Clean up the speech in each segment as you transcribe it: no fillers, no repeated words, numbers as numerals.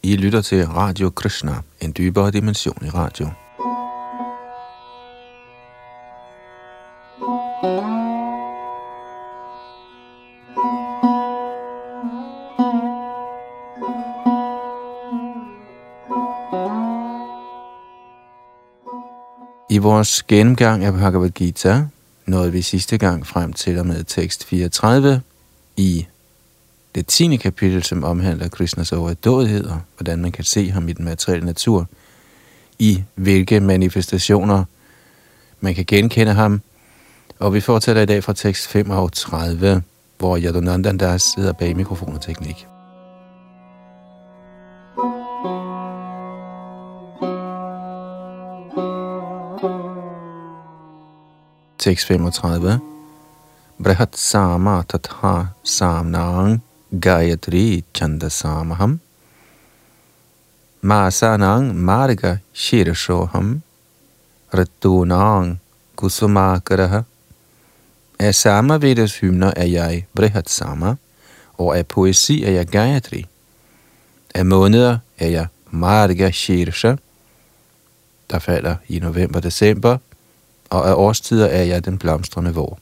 I lytter til Radio Krishna, en dybere dimension i radio. I vores gennemgang af Bhagavad Gita nåede vi sidste gang frem til og med tekst 34 i det 10. kapitel, som omhandler Krishnas overdådighed og hvordan man kan se ham i den materielle natur, i hvilke manifestationer man kan genkende ham. Og vi fortsætter i dag fra tekst 35, hvor Yadunandan Das sidder bag mikrofon og teknik. Tekst 35. Brahat sama tatha samnang Gayatri chandasamaham Masanang marga shirshoham Ratunang kusumakaraha. Af Samavedas hymner er jeg Brihat Sama, og af poesi er jeg Gayatri. Af måneder er jeg Marga Shirsha, der falder i november-december, og af årstider er jeg den blomstrende vår.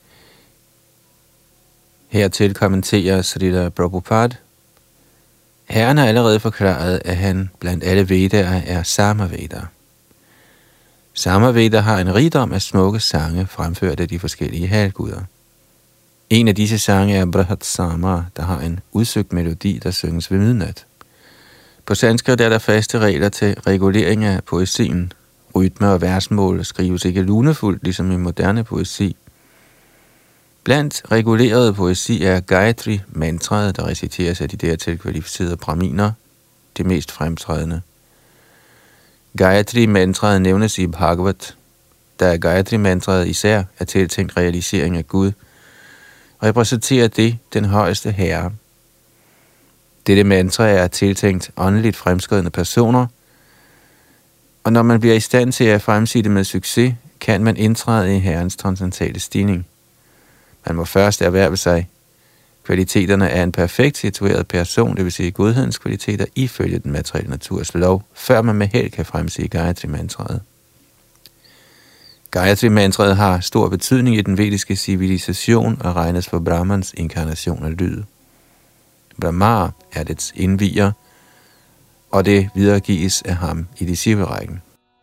Hertil kommenterer Srila Prabhupada: Herren har allerede forklaret, at han blandt alle Vedaer er Samaveda. Samaveda har en rigdom af smukke sange, fremført af de forskellige halvguder. En af disse sange er Brahat Sama, der har en udsøgt melodi, der synges ved midnat. På sanskrit er der faste regler til regulering af poesien. Rytme og versmål skrives ikke lunefuldt, ligesom i moderne poesi. Blandt regulerede poesi er Gayatri-mantraet, der reciteres af de dertil kvalificerede brahminer, det mest fremtrædende. Gayatri-mantraet nævnes i Bhagavat, da Gayatri-mantraet især er tiltænkt realisering af Gud, repræsenterer det den højeste herre. Dette mantra er tiltænkt åndeligt fremskridende personer, og når man bliver i stand til at fremsige det med succes, kan man indtræde i herrens transcendentale stigning. Man må først erhverve sig kvaliteterne af en perfekt situeret person, det vil sige godhedens kvaliteter, ifølge den materielle naturs lov, før man med held kan fremsige Gayatri-mantraet. Gayatri-mantraet har stor betydning i den vediske civilisation og regnes for Brahmans inkarnation af lyd. Brahma er dets indvier, og det videregives af ham i disciplerækken.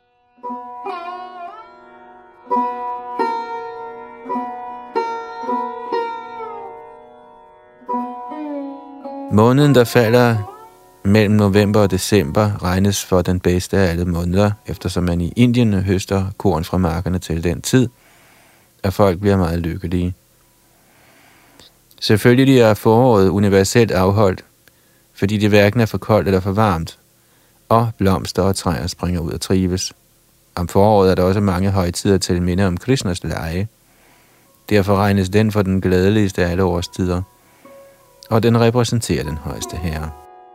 Måneden, der falder mellem november og december, regnes for den bedste af alle måneder, eftersom man i Indien høster korn fra markerne til den tid, og folk bliver meget lykkelige. Selvfølgelig er foråret universelt afholdt, fordi det hverken er for koldt eller for varmt, og blomster og træer springer ud og trives. Om foråret er der også mange højtider til minde om Krishnas lege. Derfor regnes den for den glædeligste af alle årstider, og den repræsenterer den højeste herre.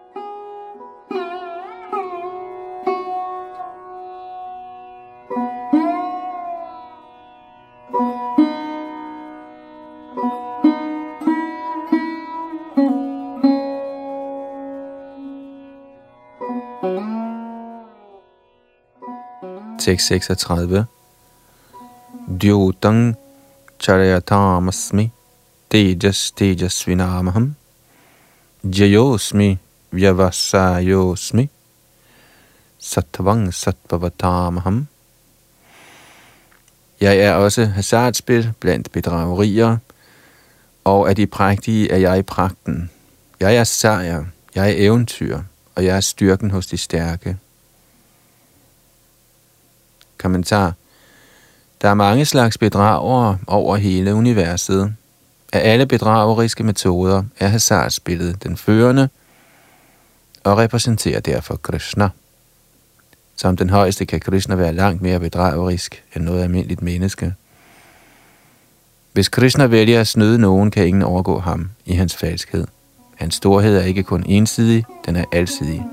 Tekst 36. Dyotang charayatamasmi tejas tejasvinamaham jayosmi vyavasayosmi sattvang sattvatamaham. Jeg er også hasardspil blandt bedragerier, og af de prægtige er jeg pragten. Jeg er sejr, jeg er eventyr, og jeg er styrken hos de stærke. Kommentar. Der er mange slags bedragere over hele universet. Af alle bedrageriske metoder er hasardspillet den førende og repræsenterer derfor Krishna. Som den højeste kan Krishna være langt mere bedragerisk end noget almindeligt menneske. Hvis Krishna vælger at snyde nogen, kan ingen overgå ham i hans falskhed. Hans storhed er ikke kun ensidig, den er alsidig.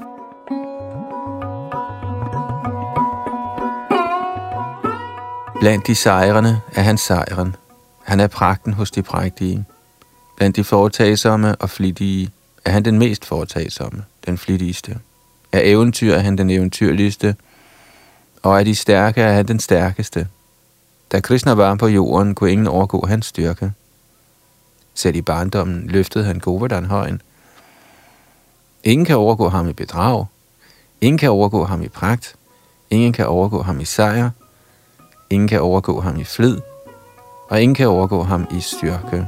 Blandt de sejrende er han sejren. Han er pragten hos de prægtige. Blandt de foretagsomme og flittige er han den mest foretagsomme, den flittigste. Af eventyr er han den eventyrligste, og af de stærke er han den stærkeste. Da Krishna var på jorden, kunne ingen overgå hans styrke. Selv i barndommen løftede han Govardhan højen. Ingen kan overgå ham i bedrag. Ingen kan overgå ham i pragt. Ingen kan overgå ham i sejr. Ingen kan overgå ham i flid. Og ingen kan overgå ham i styrke.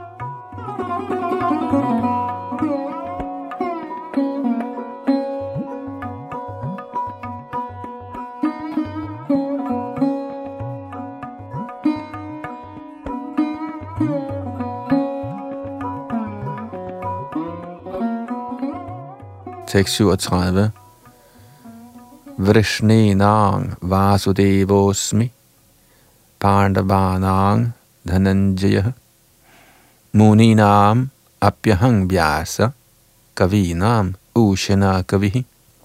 Tekst 37. Vrishninang vasudevosmi Pandavanang dhananjaya Muninam apyahang vyasa Kavinam ushana kavihi.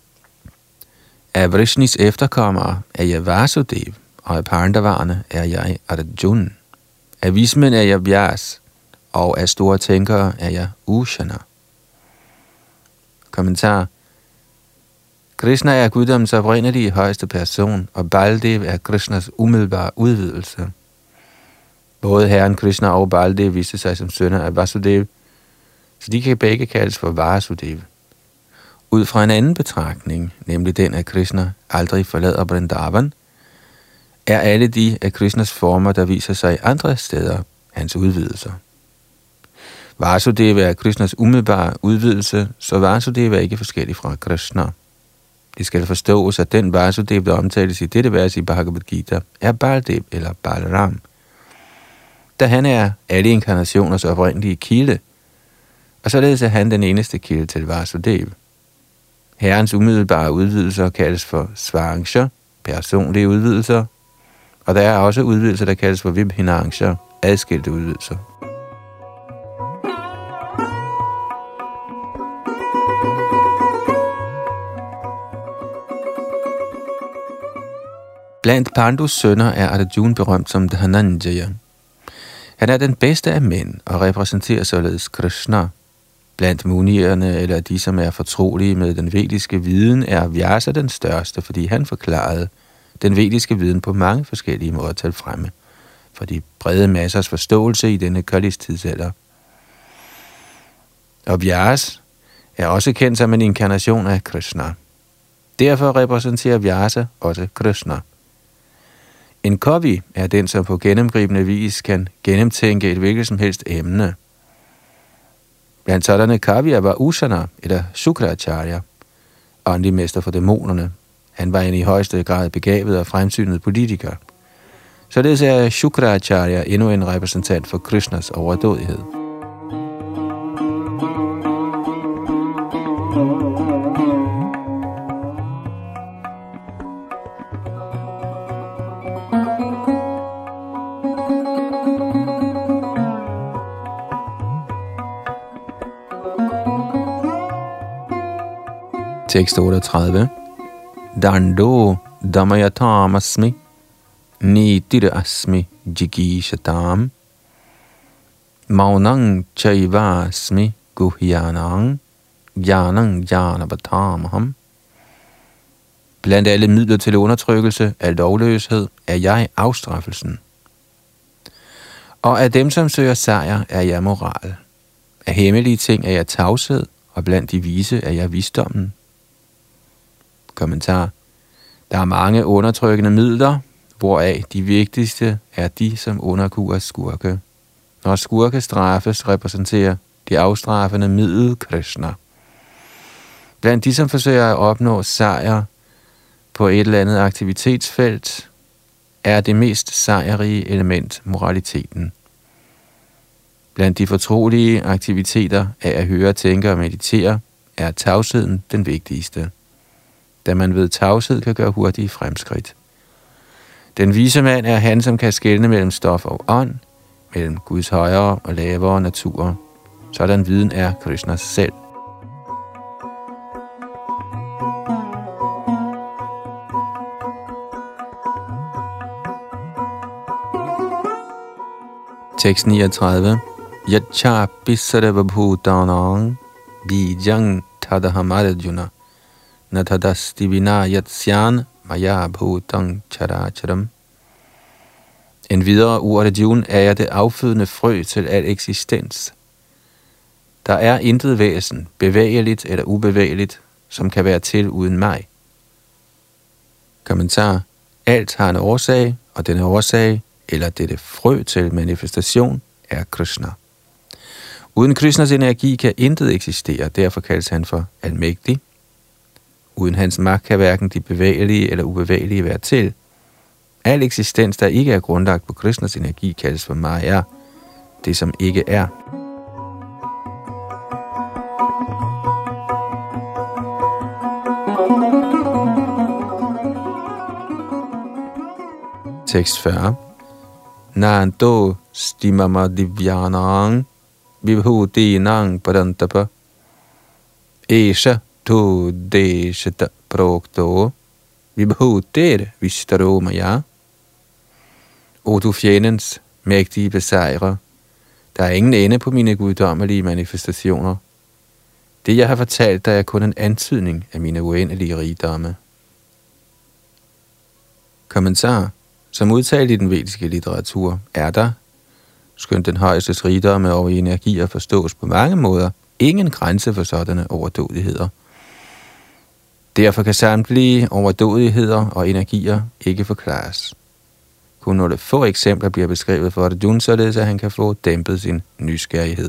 Af Vrishnis efterkommere er jeg Vasudev, og af Pandavarne er jeg Arjuna. Af vismænd er jeg Vyas, og af store tænkere er jeg Ushana. Kommentar. Krishna er guddommens oprindelige højeste person, og Baldev er Krishnas umiddelbare udvidelse. Både herren Krishna og Baldev viste sig som sønner af Vasudev, så de kan begge kaldes for Vasudev. Ud fra en anden betragtning, nemlig den af Krishna aldrig forlader Vrindavan, er alle de af Krishnas former, der viser sig andre steder, hans udvidelser. Vasudeva er Krishnas umiddelbare udvidelse, så Vasudeva er ikke forskellig fra Krishna. Det skal forstås, at den Vasudeva, der omtales i dette vers i Bhagavad Gita, er Baldev eller Balaram, da han er alle inkarnationers oprindelige kilde, og således er han den eneste kilde til Vasudev. Herrens umiddelbare udvidelser kaldes for Svarangsha, personlige udvidelser, og der er også udvidelser, der kaldes for Vibhinangsha, adskilte udvidelser. Blandt Pandus sønner er Arjuna berømt som Dhananjaya. Han er den bedste af mænd og repræsenterer således Krishna. Blandt munierne, eller de, som er fortrolige med den vediske viden, er Vyasa den største, fordi han forklarede den vediske viden på mange forskellige måder til fremme, for de brede massers forståelse i denne Kalis tidsalder. Og Vyas er også kendt som en inkarnation af Krishna. Derfor repræsenterer Vyasa også Krishna. En kavi er den, som på gennemgribende vis kan gennemtænke et hvilket som helst emne. Blandt sådanne kavier var Ushana eller Shukracharya, åndelig mester for dæmonerne. Han var en i højeste grad begavet og fremsynet politiker. Således er Shukracharya endnu en repræsentant for Krishnas overdådighed. Tekst 38. Dando damayatam asmi nitir asmi jigishatam maunang chaiva asmi guhyanang jnanang jnanabatamaham. Blandt alle midler til undertrykkelse af lovløshed er jeg afstraffelsen. Og af dem, som søger sejr, er jeg moral. Af hemmelige ting er jeg tavshed, og blandt de vise er jeg visdommen. Kommentar. Der er mange undertrykkende midler, hvoraf de vigtigste er de, som underkuer skurke. Når skurke straffes, repræsenterer de afstraffende middel Krishna. Blandt de, som forsøger at opnå sejr på et eller andet aktivitetsfelt, er det mest sejrige element moraliteten. Blandt de fortrolige aktiviteter af at høre, tænke og meditere, er tavsheden den vigtigste, da man ved tavshed kan gøre hurtige fremskridt. Den vise mand er han, som kan skelne mellem stof og ånd, mellem Guds højere og lavere naturer. Sådan viden er Krishna selv. Tekst 39. Yachapi sarva bhutanang bijang tadaham Arjuna natadasti vinayatsyan maya bhutang characharam. En videre ord Arjuna er jeg det affødende frø til al eksistens. Der er intet væsen, bevægeligt eller ubevægeligt, som kan være til uden mig. Kommentar. Alt har en årsag, og denne årsag, eller dette frø til manifestation, er Krishna. Uden Krishnas energi kan intet eksistere, derfor kaldes han for almægtig. Uden hans magt kan hverken de bevægelige eller ubevægelige være til. Al eksistens, der ikke er grundlagt på Krishnas energi, kaldes for Maya, det som ikke er. Tekst 40. Nanto stimama divyanang vibhutinang parantapa esha tu deshata prokto vibhuter vistaro maya. O du fjendens mægtige besejrer, der er ingen ende på mine guddommelige manifestationer. Det jeg har fortalt dig er kun en antydning af mine uendelige rigdomme. Kommentar. Som udtalt i den vediske litteratur er der, skønt den højestes rigdomme over energier forstås på mange måder, ingen grænse for sådanne overdådigheder. Derfor kan samtlige overdådigheder og energier ikke forklares. Kun nogle få eksempler bliver beskrevet for Arjuna, således at han kan få dæmpet sin nysgerrighed.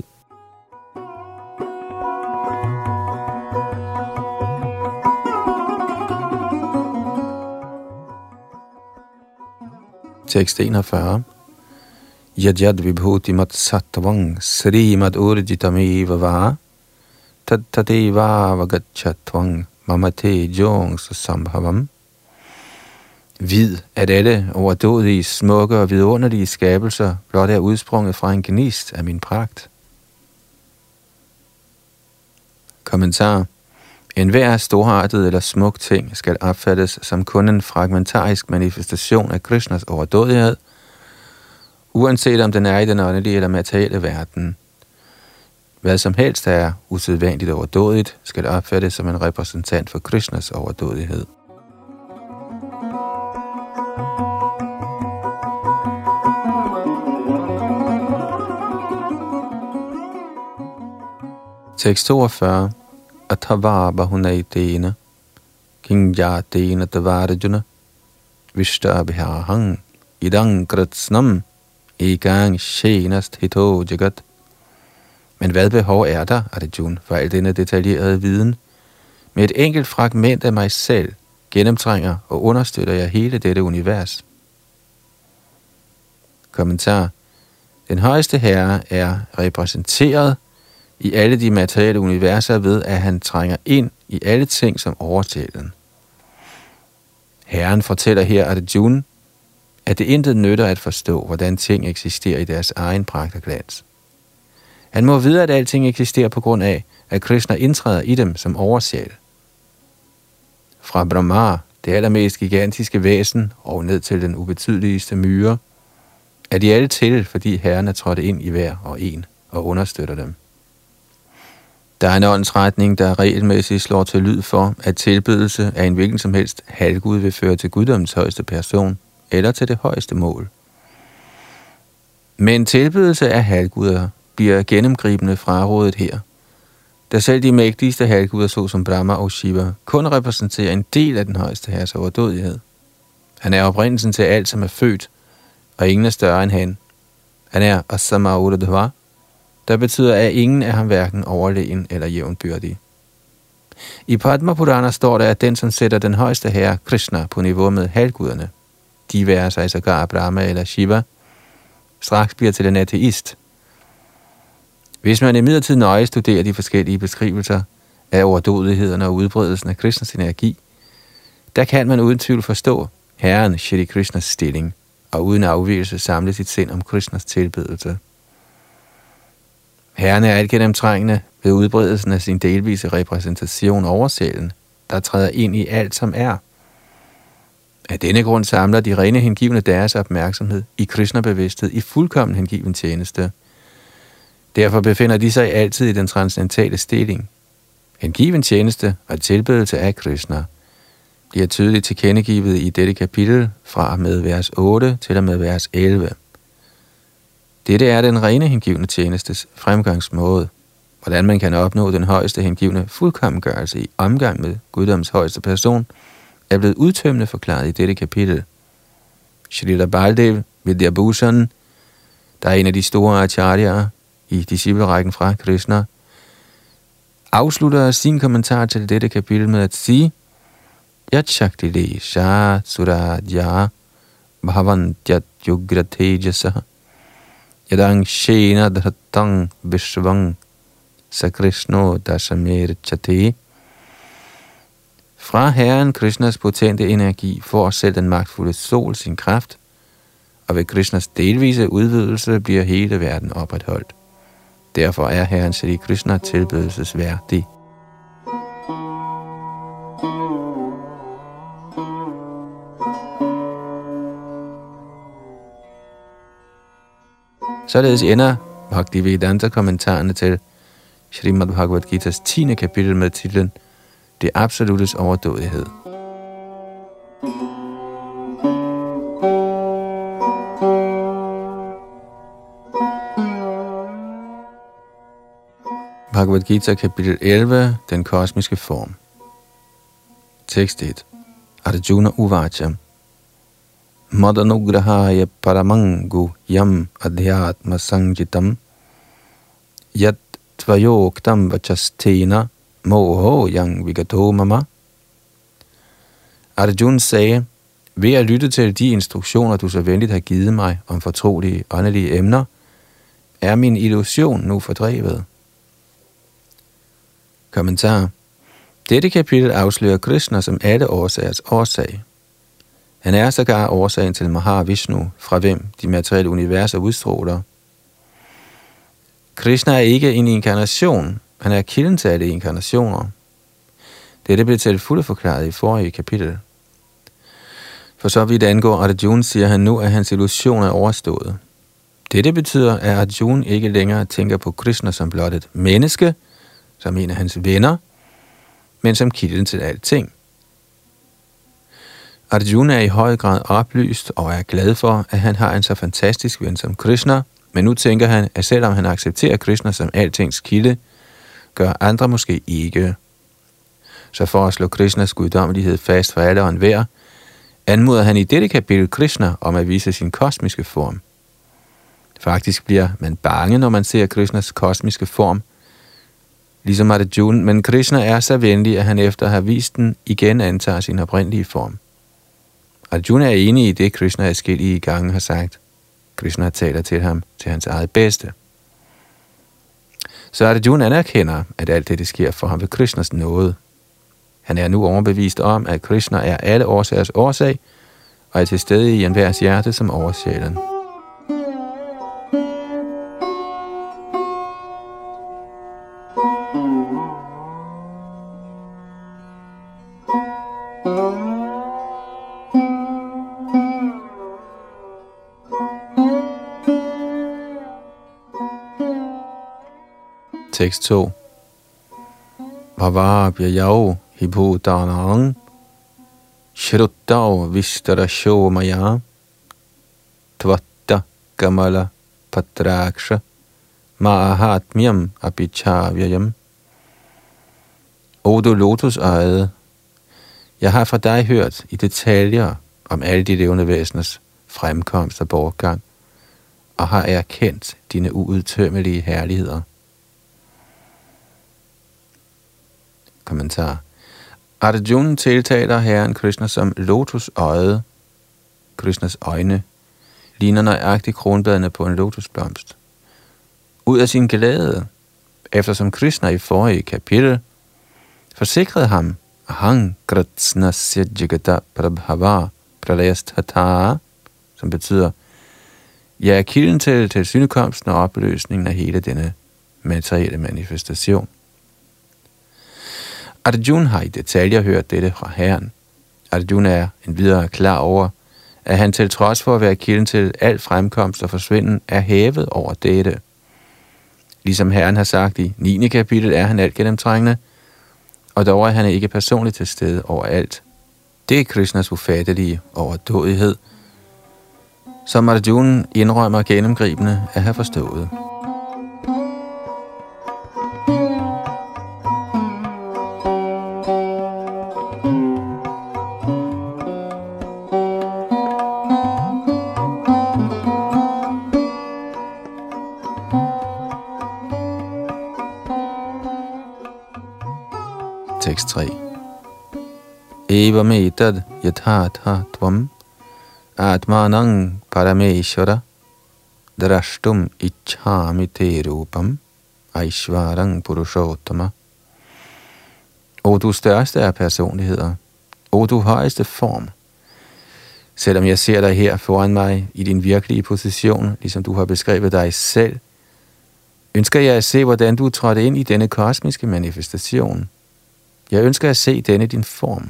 Tekst 41. Yajad vibhutimat sattvang srimad urjitameva va tattadeva vagacchatvang mamate jongs sambhavam. Vid, at alle overdådige, smukke og vidunderlige skabelser blot er udsprunget fra en gnist af min pragt. Kommentar. Enhver storartet eller smuk ting skal opfattes som kun en fragmentarisk manifestation af Krishnas overdådighed, uanset om den er i den åndelige eller materielle verden. Hvad som helst er usædvanligt overdådigt, skal opfattes som en repræsentant for Krishnas overdådighed. Tekst 42. Athava bahunaitena kingyatena tavarjuna vishtabhyahang idang kritsnam egang shenast hito jagat. Men hvad behov er der, Arjuna, for al denne detaljerede viden? Med et enkelt fragment af mig selv gennemtrænger og understøtter jeg hele dette univers. Kommentar. Den højeste herre er repræsenteret i alle de materielle universer ved, at han trænger ind i alle ting som oversjælen. Herren fortæller her Arjuna, at det intet nytter at forstå, hvordan ting eksisterer i deres egen pragt og glans. Han må vide, at alting eksisterer på grund af, at Krishna indtræder i dem som oversjæl. Fra Brahma, det allermest gigantiske væsen, og ned til den ubetydeligste myre, er de alle til, fordi Herren er trådt ind i hver og en og understøtter dem. Der er en åndsretning, der regelmæssigt slår til lyd for, at tilbedelse af en hvilken som helst halvgud vil føre til guddommens højeste person, eller til det højeste mål. Men tilbedelse af halvguder bliver gennemgribende frarådet her, da selv de mægtigste halvguder, såsom Brahma og Shiva, kun repræsenterer en del af den højeste herres overdådighed. Han er oprindelsen til alt, som er født, og ingen er større end han. Han er Asama Uradhva, der betyder, at ingen er ham hverken overlegen eller jævnbyrdig. I Padma Purana står der, at den, som sætter den højeste herre, Krishna, på niveau med halvguderne, de værer sig sågar Brahma eller Shiva, straks bliver til en ateist. Hvis man imidlertid nøje studerer de forskellige beskrivelser af overdådighederne og udbredelsen af Krishnas energi, der kan man uden tvivl forstå Herren Shri Krishnas stilling, og uden afvigelse samle sit sind om Krishnas tilbedelse. Herren er alt gennemtrængende ved udbredelsen af sin delvise repræsentation over sjælen, der træder ind i alt, som er. Af denne grund samler de rene hengivne deres opmærksomhed i Krishna-bevidsthed i fuldkommen hengiven tjeneste. Derfor befinder de sig altid i den transcendentale stilling. Hengiven tjeneste og tilbedelse af Krishna bliver tydeligt tilkendegivet i dette kapitel fra med vers 8 til og med vers 11. Dette er den rene hengivne tjenestes fremgangsmåde, hvordan man kan opnå den højeste hengivne fuldkommengørelse i omgang med guddoms højeste person, er blevet udtømmende forklaret i dette kapitel. Shrila Baldev Vidyabhushan, der er en af de store acharyaer i disciplerækken fra Krishna, afslutter sin kommentar til dette kapitel med at sige: Yat Shaktile Shah Suradya Bhavantyat Yugratejasa Yadang Shena Dhatang Vishvang Sakrishno Dasamer Chate. Fra Herren Krishnas potente energi får selv den magtfulde sol sin kraft, og ved Krishnas delvise udvidelse bliver hele verden opretholdt. Derfor er Herren Shri Krishna tilbedelsesværdig. Således ender Bhaktivedanta-kommentarerne til Srimad Bhagavad Gita's 10. kapitel med titlen Det absolutes overdådighed. Bhagavad Gita kapitel 11, den kosmiske form. Tekst 1. Arjuna Uvacha Madanugrahaya Paramangu Yam Adhyatma Sanjitam Yat Tvayoktam Vachastena Moho Yang Vigato Mama. Arjuna sagde: ved at lytte til de instruktioner, du så venligt har givet mig om fortrolige åndelige emner, er min illusion nu fordrevet. Kommentar. Dette kapitel afslører Krishna som alle årsagers årsag. Han er sågar årsagen til Mahavishnu, fra hvem de materielle universer udstråler. Krishna er ikke en inkarnation, han er kilden til alle inkarnationer. Dette blev til fulde forklaret i forrige kapitel. For så vidt angår Arjuna, siger han nu, at hans illusion er overstået. Dette betyder, at Arjuna ikke længere tænker på Krishna som blot et menneske, som en af hans venner, men som kilden til alting. Arjuna er i høj grad oplyst og er glad for, at han har en så fantastisk ven som Krishna, men nu tænker han, at selvom han accepterer Krishna som altings kilde, gør andre måske ikke. Så for at slå Krishnas guddommelighed fast for alle og enhver, anmoder han i dette kapitel Krishna om at vise sin kosmiske form. Faktisk bliver man bange, når man ser Krishnas kosmiske form, ligesom Arjuna, men Krishna er så venlig, at han efter at have vist den, igen antager sin oprindelige form. Arjuna er enig i det, Krishna adskillige gange har sagt. Krishna taler til ham til hans eget bedste. Så Arjuna anerkender, at alt det sker for ham ved Krishnas nåde. Han er nu overbevist om, at Krishna er alle årsagers årsag, og er til stede i enhvers hjerte som oversjælen. Tekst 2. Bhavabhyayau hibhutanang shruttau vistarasho maya tvatta kamala patraksha mahatmyam apichavyayam. O du lotusøjede, jeg har fra dig hørt i detaljer om alle de levende væseners fremkomst og bortgang, og har erkendt dine uudtømmelige herligheder. Kommentar. Arjuna tiltaler Herren Krishna som lotusøjet. Krishnas øjne ligner nøjagtigt kronbladene på en lotusblomst. Ud af sin glæde, eftersom Krishna i forrige kapitel forsikrede ham, Ahang Kritsnasya Jagata Prabhava Pralayasthatha, som betyder, jeg er kilden til synekomsten og opløsningen af hele denne materielle manifestation. Arjuna har i detaljer hørt dette fra Herren. Arjuna er endvidere klar over, at han til trods for at være kilden til al fremkomst og forsvinden, er hævet over dette. Ligesom Herren har sagt i 9. kapitel, er han alt gennemtrængende, og dog er han ikke personligt til stede overalt. Det er Krishnas ufattelige overdådighed, som Arjuna indrømmer gennemgribende at have forstået. Tekst 3. Evam etad yathatha tvam atmanang parameshvara drashtum ichhami te rupam aishvarang purushottama. O du største af personligheder, o du højeste form, selvom jeg ser dig her foran mig i din virkelige position, ligesom du har beskrevet dig selv, ønsker jeg at se, hvordan du trådte ind i denne kosmiske manifestation. Jeg ønsker at se denne din form.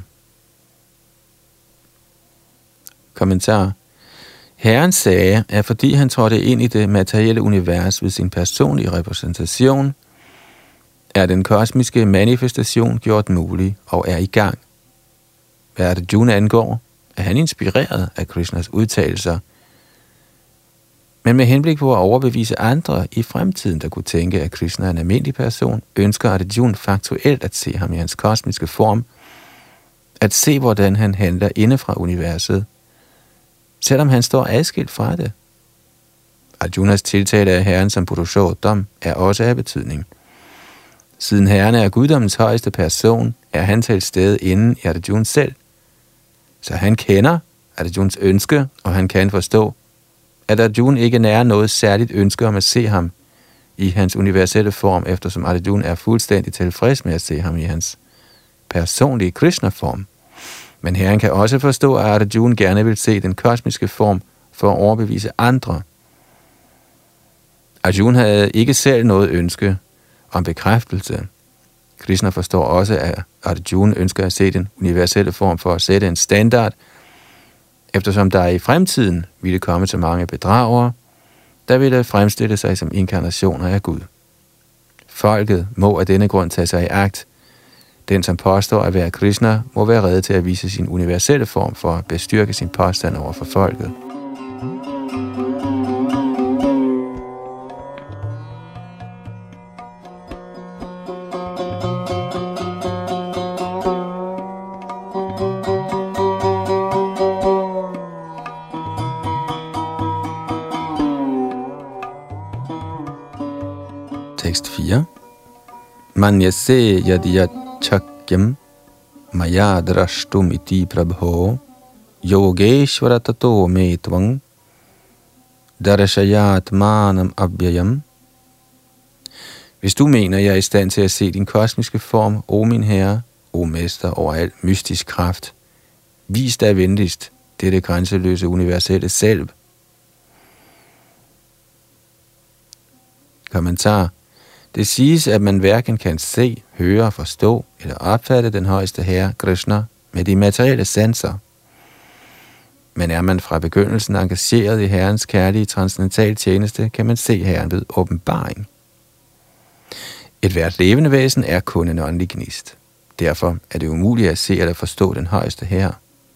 Kommentar. Herren sagde, at fordi han trådte ind i det materielle univers ved sin personlige repræsentation, er den kosmiske manifestation gjort mulig og er i gang. Hvad Arjuna angår, er han inspireret af Krishnas udtalelser, men med henblik på at overbevise andre i fremtiden, der kunne tænke, at Krishna er en almindelig person, ønsker Arjuna faktuelt at se ham i hans kosmiske form, at se, hvordan han handler inde fra universet, selvom han står adskilt fra det. Arjunas tiltale af Herren som Purushottam er også af betydning. Siden Herren er guddommens højeste person, er han til stede inden i Arjuna selv. Så han kender Arjunas ønske, og han kan forstå, at Arjuna ikke nærer noget særligt ønske om at se ham i hans universelle form, eftersom Arjuna er fuldstændig tilfreds med at se ham i hans personlige Krishna-form. Men Herren kan også forstå, at Arjuna gerne vil se den kosmiske form for at overbevise andre. Arjuna havde ikke selv noget ønske om bekræftelse. Krishna forstår også, at Arjuna ønsker at se den universelle form for at sætte en standard, eftersom der i fremtiden ville komme så mange bedragere, der ville fremstille sig som inkarnationer af Gud. Folket må af denne grund tage sig i agt. Den, som påstår at være Krishna, må være rede til at vise sin universelle form for at bestyrke sin påstand over for folket. Tekst 4. Manyase yadiyat chakyam maya drashtum iti prabho yogeshvara tato me tvang darashayat manam abhyayam. Hvis du mener, jeg er i stand til at se din kosmiske form, o min herre, o mester over al mystisk kraft, vis dig venligst dette grænseløse universelle selv. Kommentar. Det siges, at man hverken kan se, høre, forstå eller opfatte den højeste herre, Krishna, med de materielle sanser. Men er man fra begyndelsen engageret i Herrens kærlige transcendental tjeneste, kan man se Herren ved åbenbaring. Et hvert levende væsen er kun en åndelig gnist. Derfor er det umuligt at se eller forstå den højeste herre.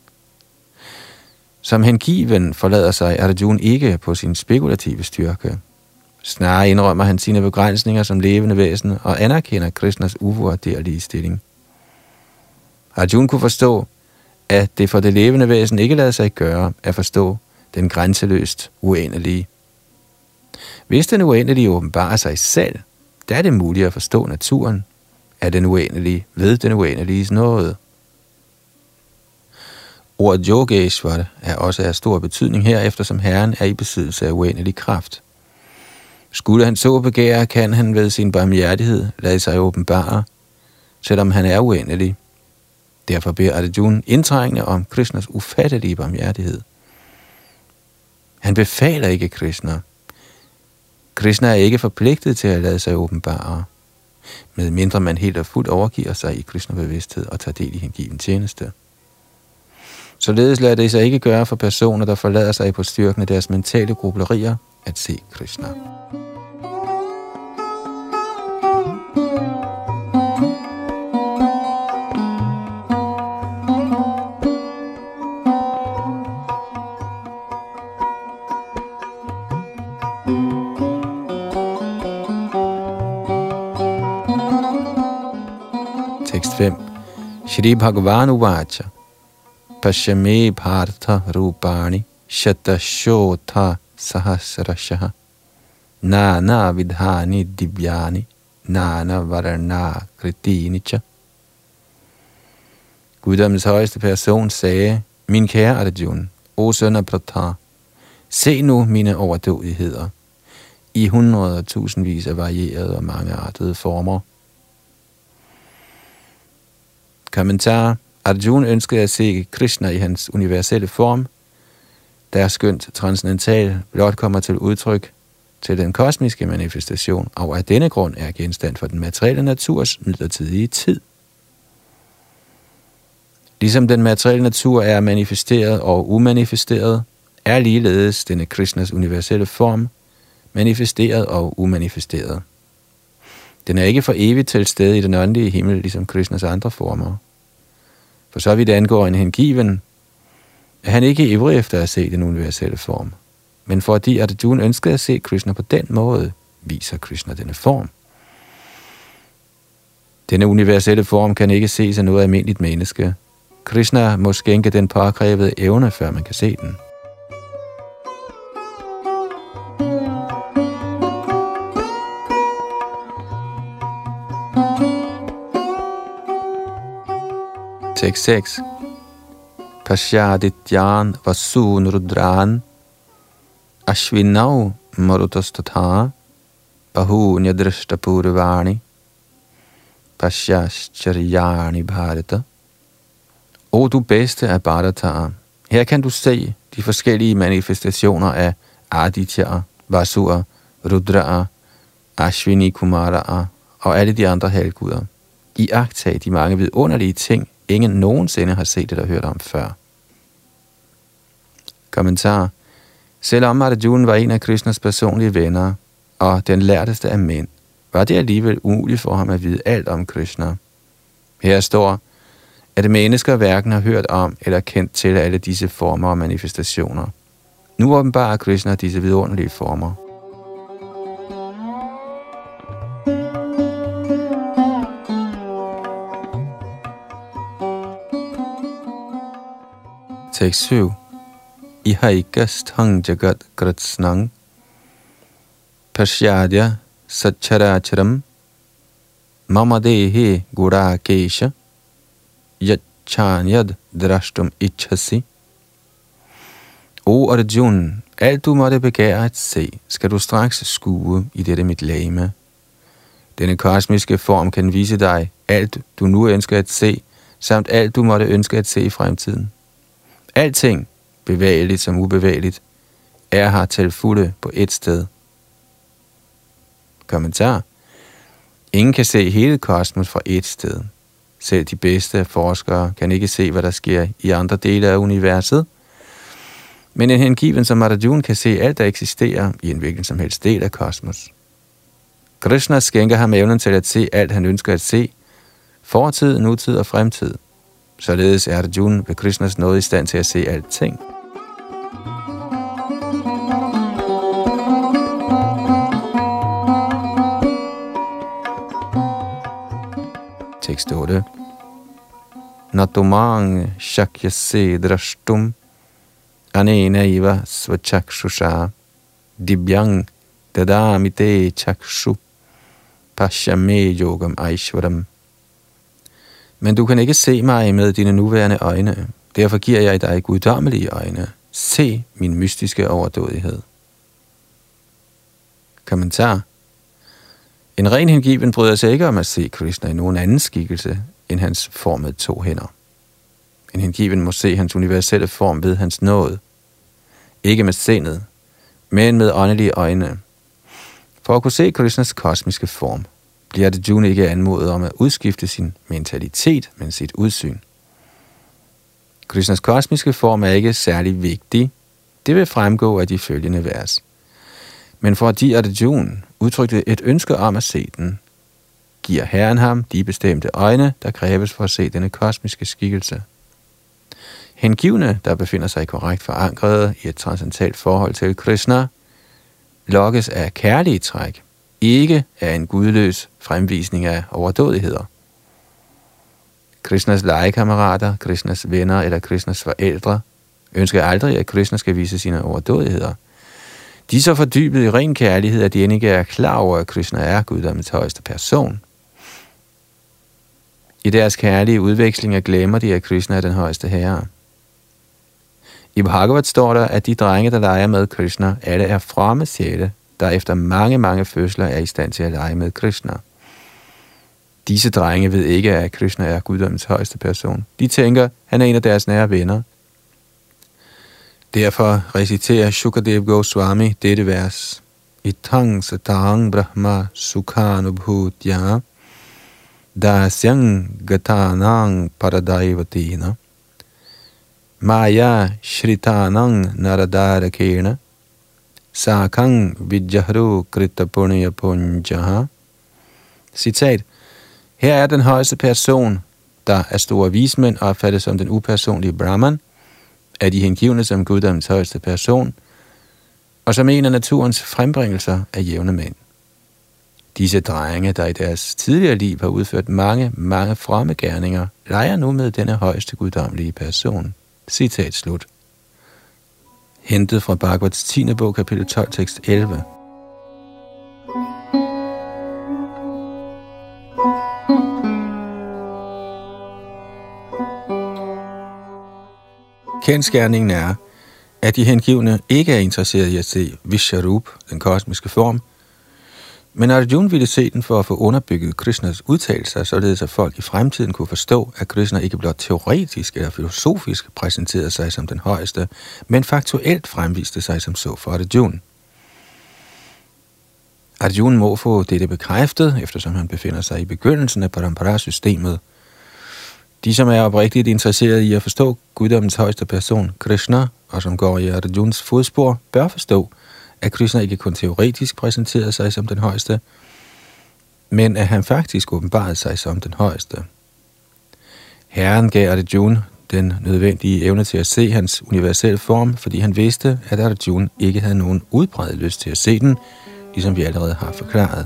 Som hengiven forlader sig Arjuna ikke på sin spekulative styrke. Snarere indrømmer han sine begrænsninger som levende væsen og anerkender Krishnas uvurderlige stilling. Arjuna kunne forstå, at det for det levende væsen ikke lader sig gøre at forstå den grænseløst uendelige. Hvis den uendelige åbenbarer sig selv, der er det muligt at forstå naturen af den uendelige ved den uendeliges nåde. Ordet Yogeshvara er også af stor betydning her, eftersom Herren er i besiddelse af uendelig kraft. Skulle han så begære, kan han ved sin barmhjertighed lade sig åbenbare, selvom han er uendelig. Derfor beder Arjuna indtrængende om Krishnas ufattelige barmhjertighed. Han befaler ikke Krishna. Krishna er ikke forpligtet til at lade sig åbenbare, medmindre man helt og fuldt overgiver sig i Krishna-bevidsthed og tager del i hengiven tjeneste. Således lader det sig ikke gøre for personer, der forlader sig på styrken af deres mentale grublerier, at se Krishna. Shri Bhagavan Uvacha Pashyame Partha Rupani Shatashotha Sahasrashaha Nana Vidhani Divyani Nana Varana Kritinicha. Guddommens højeste person sagde: Min kære Arjuna, o søn af Pratha, se nu mine overdådigheder i hundrede og tusindvis af varierede og mangeartede former. Kommentar. Arjuna ønskede at se Krishna i hans universelle form, der skønt transcendental blot kommer til udtryk til den kosmiske manifestation, og af denne grund er genstand for den materielle naturs midlertidige tid. Ligesom den materielle natur er manifesteret og umanifesteret, er ligeledes denne Krishnas universelle form manifesteret og umanifesteret. Den er ikke for evigt til stede i den åndelige himmel, ligesom Krishnas andre former. For så vidt angår en hengiven, er han ikke ivrig efter at se den universelle form. Men fordi Arjuna ønskede at se Krishna på den måde, viser Krishna denne form. Denne universelle form kan ikke ses af noget almindeligt menneske. Krishna må skænke den påkrævede evne, før man kan se den. Tekst 6. Pashyadityan vasun rudran ashvinau marutostatha bahunya drishtapurvani Pashyascharyani bharata. O du bedste af Bharataer, her kan du se de forskellige manifestationer af Adityaer, Vasuer, Rudraer, Ashwini Kumaraer og alle de andre halvguder. Iagttag de mange vidunderlige ting, ingen nogensinde har set eller hørt om før. Kommentar. Selvom Arjuna var en af Krishnas personlige venner og den lærteste af mænd, var det alligevel umuligt for ham at vide alt om Krishna. Her står, at mennesker hverken har hørt om eller kendt til alle disse former og manifestationer. Nu åbenbarer Krishna disse vidunderlige former. Tekst 7. Ihaikasthang jagat kratsnang pashyadya satcharacharam mamadehe gurakesha yachanyad drashtum ichhasi. O Arjuna, alt du måtte begære at se, skal du straks skue i dette mit legeme. Denne kosmiske form kan vise dig alt du nu ønsker at se, samt alt du måtte ønske at se i fremtiden. Alting, bevægeligt som ubevægeligt, er her til fulde på et sted. Kommentar. Ingen kan se hele kosmos fra et sted. Selv de bedste forskere kan ikke se, hvad der sker i andre dele af universet. Men en hengiven som Arjuna kan se alt, der eksisterer i en hvilken som helst del af kosmos. Krishna skænker ham evnen til at se alt, han ønsker at se, fortid, nutid og fremtid. Således er Arjuna ved Krishnas nåde i stand til at se alting. Tekst 8. Natumang shakyase drashtum anena iva svachakshusha dibyang dadamite chakshu pashyame yogam aishvaram. Men du kan ikke se mig med dine nuværende øjne. Derfor giver jeg dig guddommelige øjne. Se min mystiske overdådighed. Kommentar. En ren hengiven bryder sig ikke om at se Krishna i nogen anden skikkelse end hans form med 2 hænder. En hengiven må se hans universelle form ved hans nåde. Ikke med sindet, men med åndelige øjne. For at kunne se Krishnas kosmiske form, bliver Arjuna ikke anmodet om at udskifte sin mentalitet, men sit udsyn. Krishnas kosmiske form er ikke særlig vigtig. Det vil fremgå af de følgende vers. Men fordi Arjuna udtrykte et ønske om at se den, giver Herren ham de bestemte øjne, der kræves for at se denne kosmiske skikkelse. Hengivne, der befinder sig korrekt forankret i et transcendentalt forhold til Krishna, lokkes af kærlige træk, ikke af en gudløs fremvisning af overdådigheder. Krishnas legekammerater, Krishnas venner eller Krishnas forældre ønsker aldrig, at Krishna skal vise sine overdådigheder. De er så fordybet i ren kærlighed, at de end ikke er klar over, at Krishna er guddommens højeste person. I deres kærlige udvekslinger glemmer de, at Krishna er den højeste herre. I Bhagavad står der, at de drenge, der leger med Krishna, alle er fromme sjæle, der efter mange fødsler er i stand til at lege med Krishna. Disse drenge ved ikke, at Krishna er guddommens højeste person. De tænker, han er en af deres nære venner. Derfor reciterer Shukadev Goswami dette vers. Itang satang brahma sukhanubhutya dasyang gatanang paradaivatina maya shritanang naradarakena sakang vidjahru kritapunya punjaha. Citat. Her er den højeste person, der af store vismænd opfattes som den upersonlige Brahman, af de hengivne som guddommens højeste person, og som en af naturens frembringelser af jævne mænd. Disse drenge, der i deres tidligere liv har udført mange fromme gerninger, leger nu med denne højeste guddommelige person. Citat slut. Hentet fra Bhagavats 10. bog, kapitel 12, tekst 11. Kendsgerningen er, at de hengivne ikke er interesserede i at se Vishvarup, den kosmiske form, men Arjuna ville se den for at få underbygget Krishnas udtalelser, således at folk i fremtiden kunne forstå, at Krishna ikke blot teoretisk eller filosofisk præsenterede sig som den højeste, men faktuelt fremviste sig som så for Arjuna. Arjuna må få dette bekræftet, eftersom han befinder sig i begyndelsen af parampara-systemet. De, som er oprigtigt interesserede i at forstå guddommens højeste person, Krishna, og som går i Arjunas fodspor, bør forstå, at Krishna ikke kun teoretisk præsenterede sig som den højeste, men at han faktisk åbenbarede sig som den højeste. Herren gav Arjuna den nødvendige evne til at se hans universelle form, fordi han vidste, at Arjuna ikke havde nogen udbredt lyst til at se den, ligesom vi allerede har forklaret.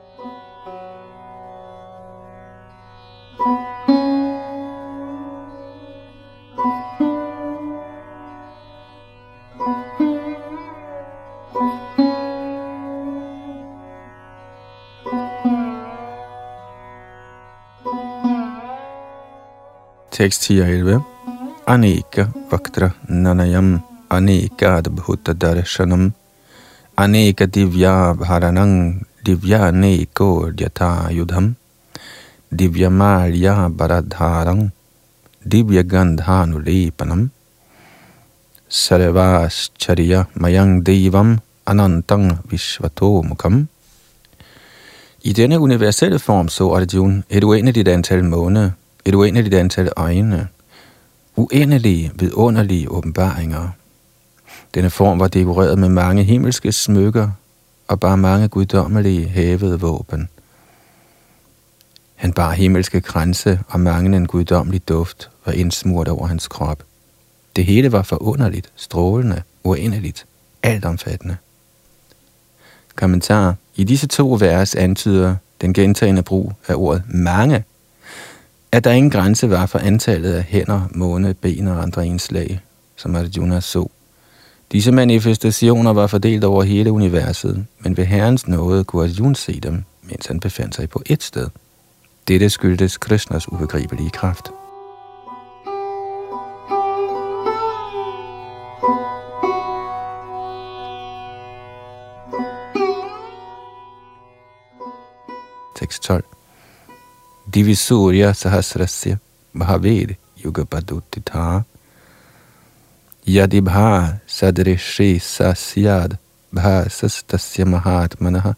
Tekst 10 og 11. Aneka vaktra nanayam, aneka adbhuta darshanam, aneka divya bharanang, divya neko dyata yudham, divya malya baradharang, divya gandhanulepanam, sarvascharya mayang devam, anantang vishvato mukham. I denne universelle form så Arjuna et uendeligt antal måne, et uendeligt antal øjne, uendelige, vidunderlige åbenbaringer. Denne form var dekoreret med mange himmelske smykker og bare mange guddommelige hævede våben. Han bar himmelske kranse, og mange en guddommelig duft var indsmurt over hans krop. Det hele var forunderligt, strålende, uendeligt, altomfattende. Kommentar. I disse to vers antyder den gentagne brug af ordet mange, at der ingen grænse var for antallet af hænder, måne, ben og andre indslag, som Arjuna så. Disse manifestationer var fordelt over hele universet, men ved Herrens nåde kunne Arjuna se dem, mens han befandt sig på ét sted. Dette skyldtes Krishnas ubegribelige kraft. Tekst 12. Divisurya sahasrasya bhaved yugapadutitha yadibha sadrishi sasyad bhasastasya mahatmanaha.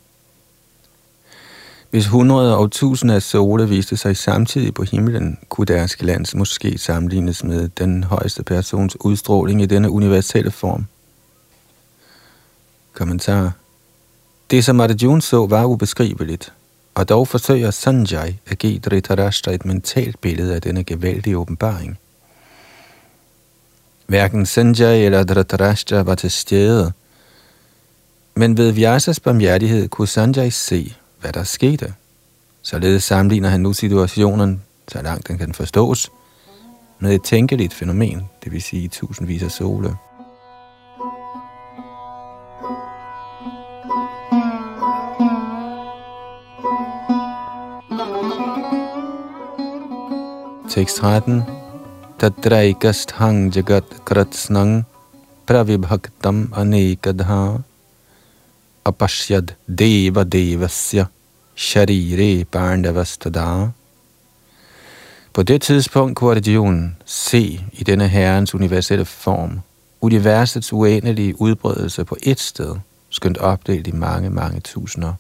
Hvis 100 og 1000 af sole viste sig samtidig på himlen, kunne deres glans måske sammenlignes med den højeste persons udstråling i denne universelle form. Kommentar. Det, som Arjuna så, var ubeskriveligt, og dog forsøger Sanjay at give Dhritarashtra et mentalt billede af denne gevaldige åbenbaring. Hverken Sanjay eller Dhritarashtra var til stede, men ved Vyasas barmhjertighed kunne Sanjay se, hvad der skete. Således sammenligner han nu situationen så langt den kan forstås, med et tænkeligt fænomen, det vil sige tusindvis af sole. Tekst 13. Tatraikasthang jagat kratsnang pravibhaktam anekadha apashyad deva devasya sharire pandavastada. På det tidspunkt kunne Arjuna se i denne herrens universelle form universets uendelige udbredelse på ét sted, skønt opdelt i mange, mange tusinder.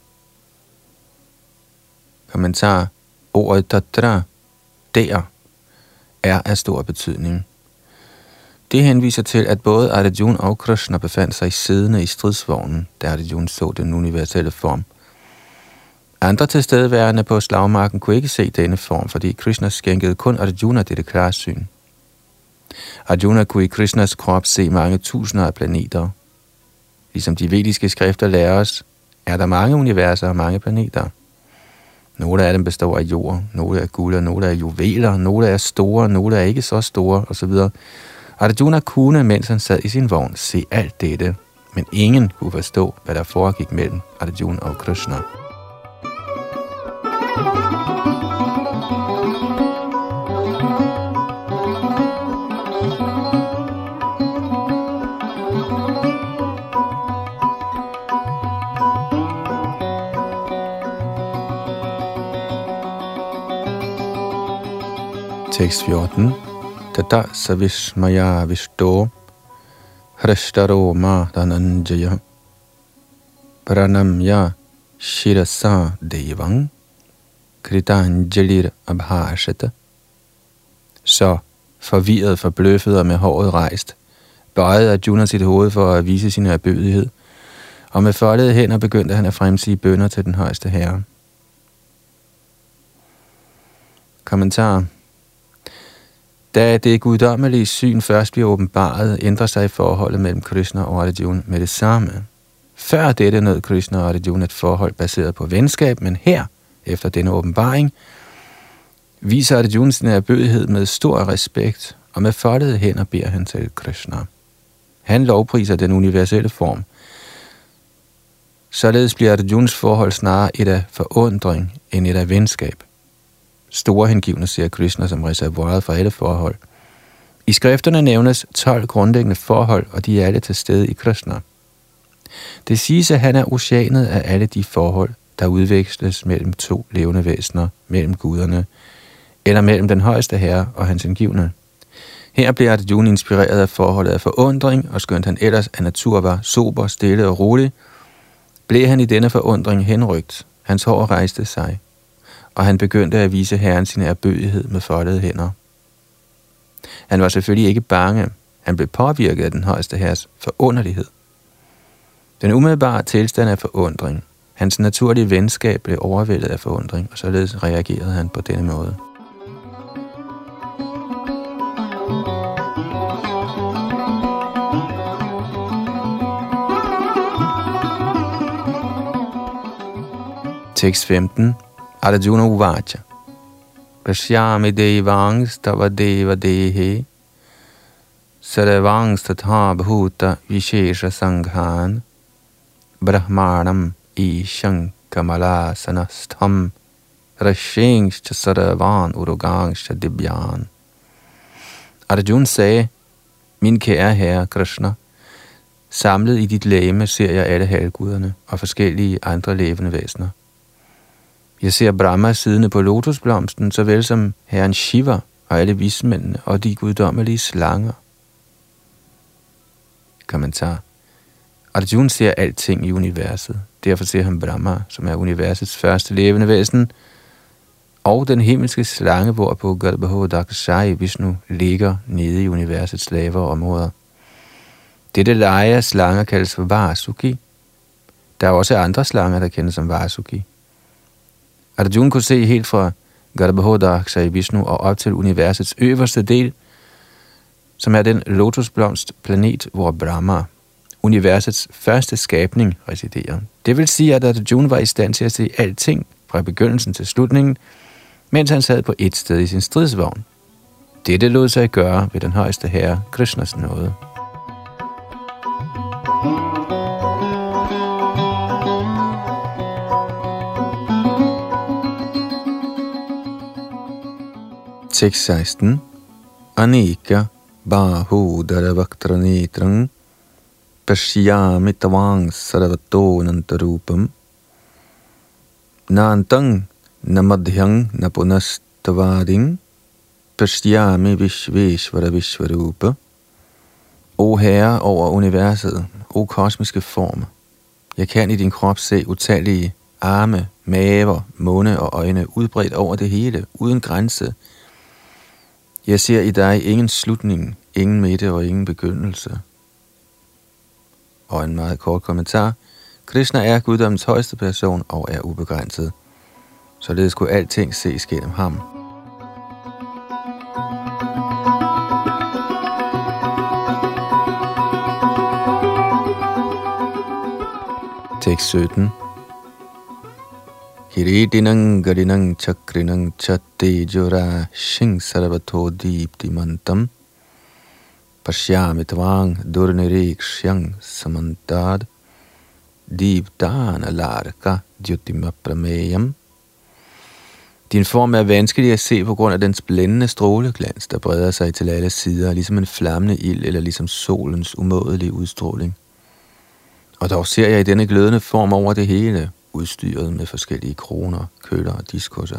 Kommentar. Ordet tatra, der, er af stor betydning. Det henviser til, at både Arjuna og Krishna befandt sig siddende i stridsvognen, da Arjuna så den universelle form. Andre tilstedeværende på slagmarken kunne ikke se denne form, fordi Krishna skænkede kun Arjuna dette klarsyn. Arjuna kunne i Krishnas krop se mange tusinder af planeter. Ligesom de vediske skrifter lærer os, er der mange universer og mange planeter. Nogle af dem består af jord, nogle er guld, og nogle er juveler, nogle er store, nogle er ikke så store, osv. Arjuna kunne, mens han sad i sin vogn, se alt dette, men ingen kunne forstå, hvad der foregik mellem Arjuna og Krishna. Tekst 14. Tata savishmaya vishto hrashtaro ma dhananjaya pranamya shirasa devang kritanjalir abhashata. Så, forvirret, forbløffet og med håret rejst, bøjede Arjuna sit hoved for at vise sin ærbødighed, og med foldede hænder begyndte han at fremsige bønner til den højeste herre. Kommentar. Da det guddommelige syn først bliver åbenbaret, ændrer sig forholdet mellem Krishna og Arjuna med det samme. Før dette nød Krishna og Arjuna et forhold baseret på venskab, men her, efter denne åbenbaring, viser Arjuna sin ærbødighed med stor respekt, og med foldede hænder beder han til Krishna. Han lovpriser den universelle form. Således bliver Arjunas forhold snarere et af forundring end et af venskab. Store hengivne ser Krishna som reservoiret for alle forhold. I skrifterne nævnes 12 grundlæggende forhold, og de er alle til stede i Krishna. Det siges, at han er oceanet af alle de forhold, der udveksles mellem to levende væsener, mellem guderne, eller mellem den højeste herre og hans hengivne. Her bliver Arjuna inspireret af forholdet af forundring, og skønt han ellers af natur var sober, stille og rolig, blev han i denne forundring henrygt. Hans hår rejste sig, og han begyndte at vise herren sin ærbødighed med foldede hænder. Han var selvfølgelig ikke bange. Han blev påvirket af den højeste herres forunderlighed. Den umiddelbare tilstand af forundring. Hans naturlige venskab blev overvældet af forundring, og således reagerede han på denne måde. Tekst 15. Arjuna uvacha. Pashyami devangs tava deva dehe sarvangs tatha bhuta vishesha sanghan brahmanam ishang kamala sanastham rashengs sarvan urugangs dibyan. Arjuna sagde, min kære herre Krishna, samlet i dit legeme ser jeg alle halvguderne og forskellige andre levende væsener. Jeg ser Brahma siddende på lotusblomsten, såvel som herren Shiva og alle vismændene og de guddommelige slanger. Kommentar. Arjuna ser alting i universet. Derfor ser han Brahma, som er universets første levende væsen, og den himmelske slange, hvorpå Garbhodakshai Vishnu ligger nede i universets lavere områder. Dette leje af slanger kaldes for Vasuki. Der er også andre slanger, der kendes som Vasuki. Arjuna kunne se helt fra Garbhodakshai Vishnu og op til universets øverste del, som er den lotusblomstplanet, hvor Brahma, universets første skabning, residerer. Det vil sige, at Arjuna var i stand til at se alting fra begyndelsen til slutningen, mens han sad på et sted i sin stridsvogn. Dette lod sig gøre ved den højeste herre, Krishnas nåde. Tekst 16. Anika bahudara vaktranetrang pashyami tavang sarvato nantarupam nantang namadhyang napunastavaring pashyami vishveshvara vishvarupa. O Herre over universet, o kosmiske form, jeg kan i din krop se utallige arme, maver, munde og øjne udbredt over det hele, uden grænse. Jeg ser i dig ingen slutning, ingen midte og ingen begyndelse. Og en meget kort kommentar. Krishna er guddommens højeste person og er ubegrænset. Således kunne alting ses gennem ham. Tekst 17. Hiridinang garinang chakrinang chattejura shing sarvato diptimantam pashyami tvang durnirekshang samantad dipdana larka dhyutimaprameyam. Din form er vanskelig at se på grund af dens blændende stråleglans, der breder sig til alle sider, ligesom en flammende ild eller ligesom solens umådelige udstråling. Og dog ser jeg i denne glødende form over det hele, udstyret med forskellige kroner, køller og diskusser.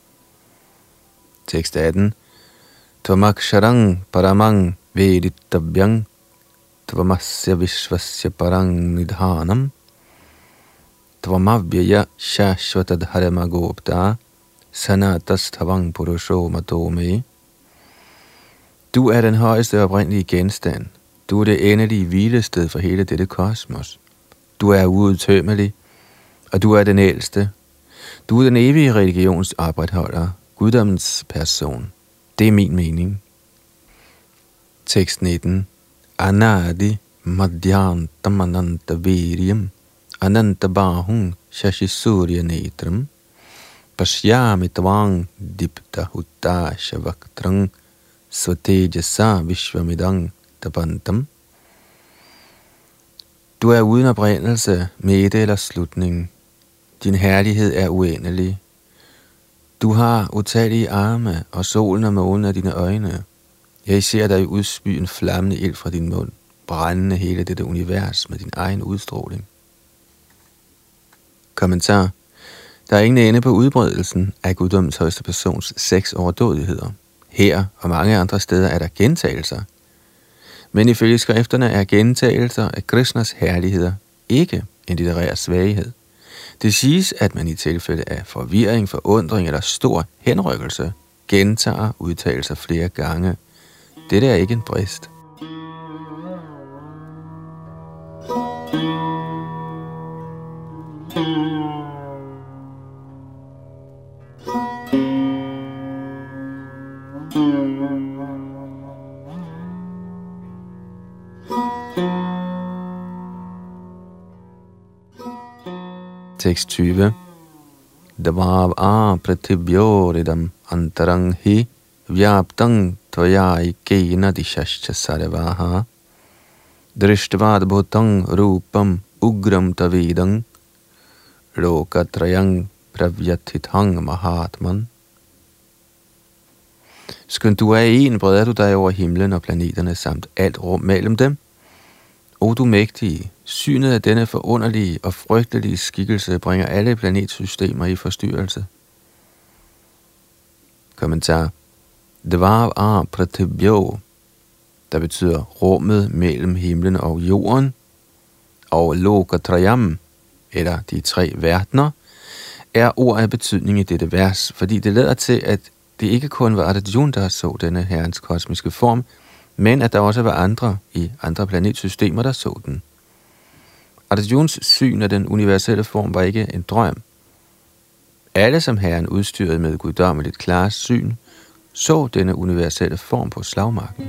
Tekst 18. Tvamaksharang paramang veditabhyang tvamasya vishvasya parang nidhanam tvamavyaya shashvatadharamagopta sanatashtavang purusho matome. Du er den højeste oprindelige genstand. Du er det endelige hvilested for hele dette kosmos. Du er uudtømmelig, og du er den ældste. Du er den evige religions opretholder, guddommens person. Det er min mening. Tekst 19. Anadi madhyantam ananta viryam ananta bahung shashisurya netram pashyami tvang dipta hutta shavaktrang svatejasa vishvamidang tapantam. Du er uden oprindelse, midte eller slutning. Din herlighed er uendelig. Du har utallige arme, og solen og månen af dine øjne. Jeg ser dig udspy en flammende ild fra din mund, brændende hele dette univers med din egen udstråling. Kommentar. Der er ingen ende på udbredelsen af guddommens højeste persons 6 overdådigheder. Her og mange andre steder er der gentagelser. Men ifølge skrifterne er gentagelser af Krishnas herligheder ikke en litterær svaghed. Det siges, at man i tilfælde af forvirring, forundring eller stor henrykkelse gentager udtalelser flere gange. Dette er ikke en brist. Tekst 20. Dvav pratibhyoridam antarang hi vyaptang tvayai kena dishascha sarvaha drishtvad bhutang rupam ugram tavidang lokatrayang pravyathithang mahatman. Skønt du er en, breder du dig over himlen og planeterne samt alt rum mellem dem. O du mægtige, synet af denne forunderlige og frygtelige skikkelse bringer alle planetsystemer i forstyrrelse. Kommentar. Dvav pratibhyo, der betyder rummet mellem himlen og jorden, og lokatrayam, eller de 3 verdener, er ord af betydning i dette vers, fordi det lader til, at det ikke kun var Arjuna, der så denne herrens kosmiske form, men at der også var andre i andre planetsystemer, der så den. Arjuns syn af den universelle form var ikke en drøm. Alle, som herren udstyrede med guddommeligt klart syn, så denne universelle form på slagmarken.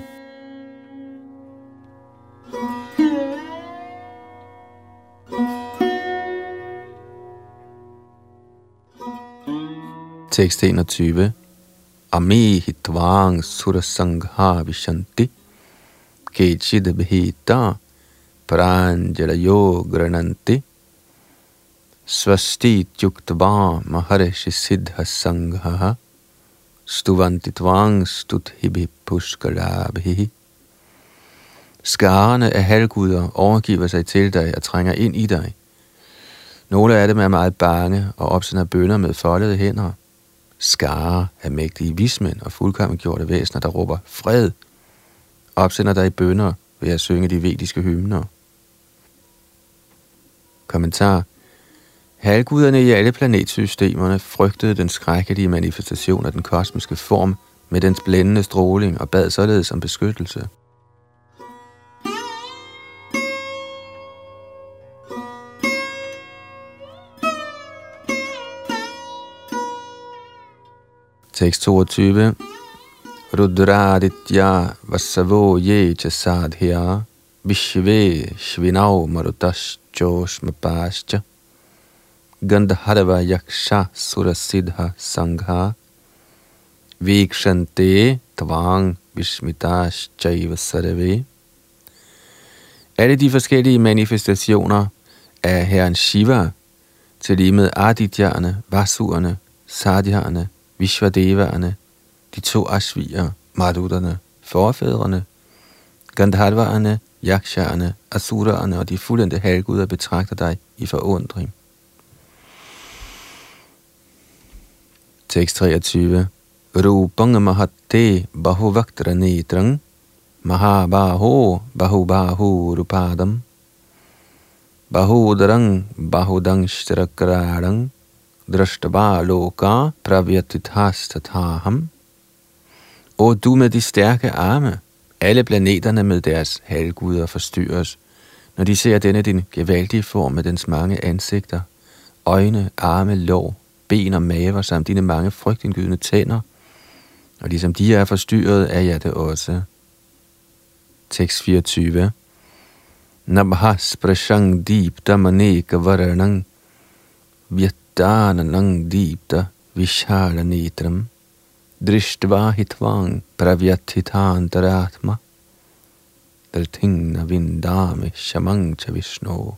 Tekst 21. Ami hitvang surasangha vishanti kechid bhita pranjala yogrananti svasti tyuktva maharishi siddha sangha stuvanti tvang stuthibhi pushkalabhi. Skarerne af halvguder overgiver sig til dig og trænger ind i dig. Nogle af dem er meget bange og opsender bønner med foldede hænder. Skare af mægtige vismænd og fuldkommengjorte væsener, der råber fred, opsender dig bønner ved at synge de vediske hymner. Kommentar. Halvguderne i alle planetsystemerne frygtede den skrækkelige manifestation af den kosmiske form med dens blændende stråling og bad således om beskyttelse. Tekst 22. Rudraditya vasavo ye chasadhya vishve shvinav marutas joshmapascha gandharva yaksha surasiddha sangha vikshante tvang vishmitas chaiva sarve. Alle de forskellige manifestationer af herren Shiva, til lige med Adityerne, Vasurerne, Sadhyerne, Vishvadevaerne, de 2 ashvier, Maruderne, forfædrene, Gandharvaerne, Yakshaerne, Asuraerne og de fuldendte halvguder betragter dig i forundring. Tekst 23. Rupang mahatte bahuvaktra netrang mahabaho bahubahu rupadam bahudarang bahudang shtrakrarang drashtava loka pravyatithasthatham. Og du med de stærke arme, alle planeterne med deres halvguder forstyrres, når de ser denne din gevaldige form med dens mange ansigter, øjne, arme, lår, ben og maver samt dine mange frygtindgydende tænder, og ligesom de er forstyrret, er jeg det også. Tekst 24. Nabhas prashang deepta maneka varanang Vyatananang deepta vishala netram Drishtva hitvang pravyathitantaratma Daltingna vindame shamang cha Vishnu.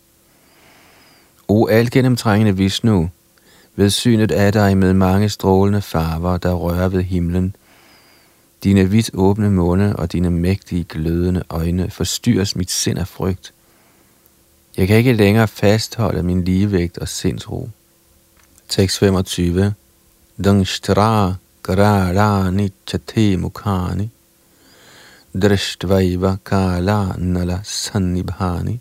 O algennemtrængende Vishnu, ved synet af dig med mange strålende farver, der rører ved himlen, dine vidt åbne munde og dine mægtige glødende øjne forstyrres mit sind af frygt. Jeg kan ikke længere fastholde min ligevægt og sindsro. Tekst 25. Dangshtra kararani chate mukhani drishtvaiva kala nala sannibhani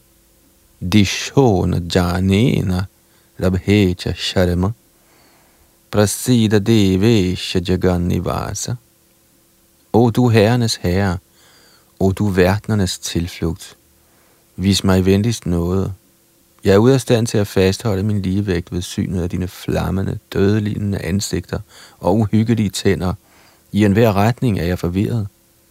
dishona janena rabhecha sharma prasida devesha jagannivasa. O du herrenes herre, o du verdenernes tilflugt, vis mig venligst noget. Jeg er ude af stand til at fastholde min ligevægt ved synet af dine flammende, dødelignende ansigter og uhyggelige tænder. I enhver retning er jeg forvirret.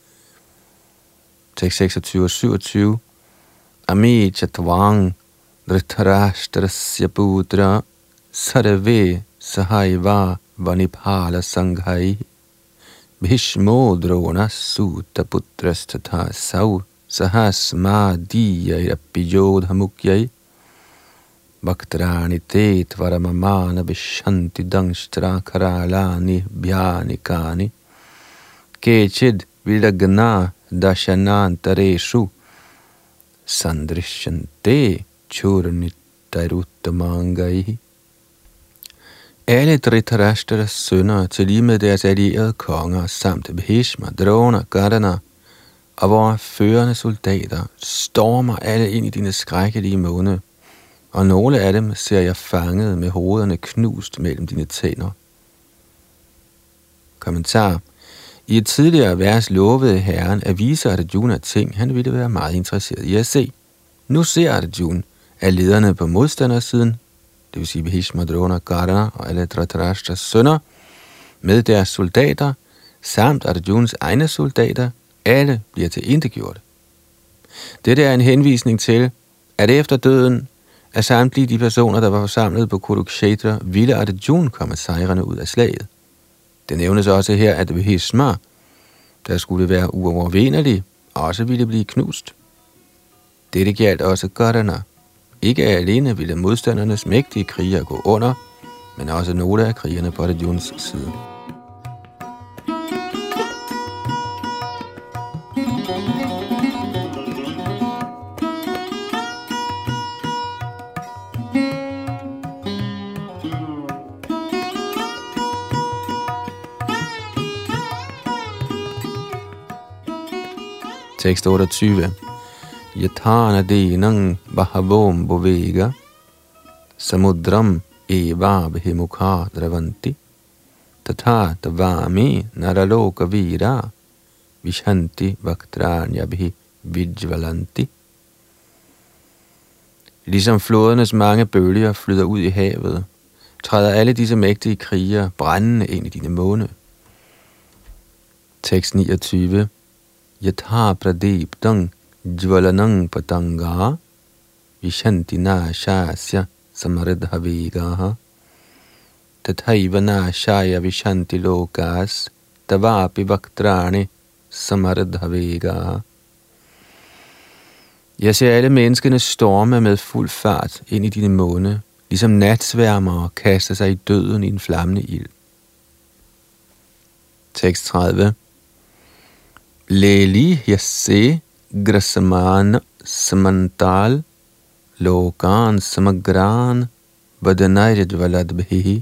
Tekst 26 og 27. Ami chatvang dhritarashtrasya putra sarve sahaiva vaniphala sanghai bhishmo drona sutta putrastatha sau sahasma diyayapiyodhamukyai Bhaktrani te tvaramamana vishanti dangshtra karalani bhyanikani kechid vidagna dashanantareshu sandrishyante churnitaruttamangai. Alle Dhritarashtras sønner, til lige med deres allierede konger, samt Bhishma, Drona, Gardana og vores førende soldater, stormer alle ind i dine skrækkelige munde, og nogle af dem ser jeg fanget med hovederne knust mellem dine tænder. Kommentar. I et tidligere vers lovede herren at vise Arjuna ting, han ville være meget interesseret i at se. Nu ser Arjuna, at lederne på modstandersiden, det vil sige Bhishma, Drona, Gardana og alle Dhritarashtras sønner, med deres soldater, samt Arjunas egne soldater, alle bliver tilintetgjort. Dette er en henvisning til, at efter døden af samtlige de personer, der var forsamlet på Kurukshetra, ville Arjuna komme sejrende ud af slaget. Det nævnes også her, at Bhishma, der skulle være uovervindelig, også ville blive knust. Dette gjaldt også Gardana. Ikke alene ville modstandernes mægtige krigere gå under, men også nogle af krigerne på Arjunas side. Tekst 28. Yathana dinang bahavom bovega samudram eva bhimukha dravanti tatha tavami naraloka vira vishanti vaktranyabhi vijvalanti. Ligesom flodernes mange bølger flyder ud i havet, træder alle disse mægtige krigere brændende ind i dine måne. Tekst 29. Yatha pradiptang jvalanang patanga vishanti nashasya samaradhavegaha tathaiva nashaya vishanti lokas tavapi vaktrani samaradhavegaha. Jeg ser alle menneskene storme med fuld fart ind i dine måne, ligesom natsværmere kaster sig i døden i en flammende ild. Tekst 30. Leli yasse grasamana samantal lokan samagran vadanayajvaladbhihi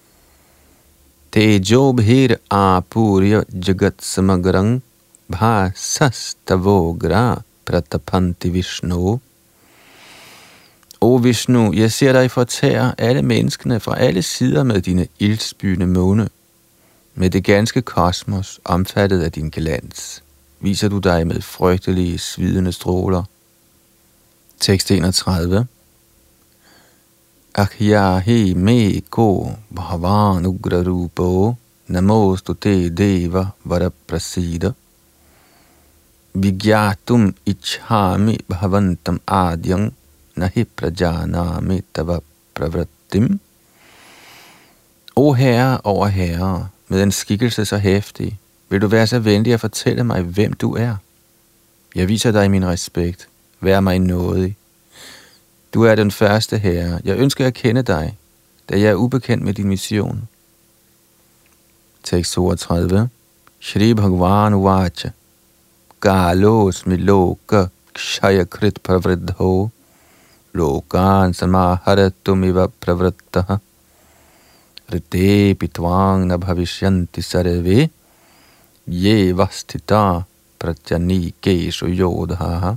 tejobhir apurya jagat samagrang bhasastavogra pratapanti Vishnu. O Vishnu, jeg ser dig fortære alle menneskene fra alle sider med dine ildsbyende måne. Med det ganske kosmos omfattet af din glans, viser du dig med frygtelige, svidende stråler. Tekst 31. Akhyahi me ko bhavan ugrarupo namostu te deva varaprasida vigyatum ichhami bhavantam adyang nahi prajanami tava pravrattim. O Herre over herrer, med en skikkelse så hæftig, vil du være så venlig at fortælle mig, hvem du er? Jeg viser dig min respekt. Vær mig nådig. Du er den første herre. Jeg ønsker at kende dig, da jeg er ubekendt med din mission. Tekst 32. Shri Bhagavan Uvacha Galos miloka kshayakrit pravridho lokan samaharatum pravrittaha rite pitvang nabhavishyanti sarve ye vastita pratyani keshu yodhaha.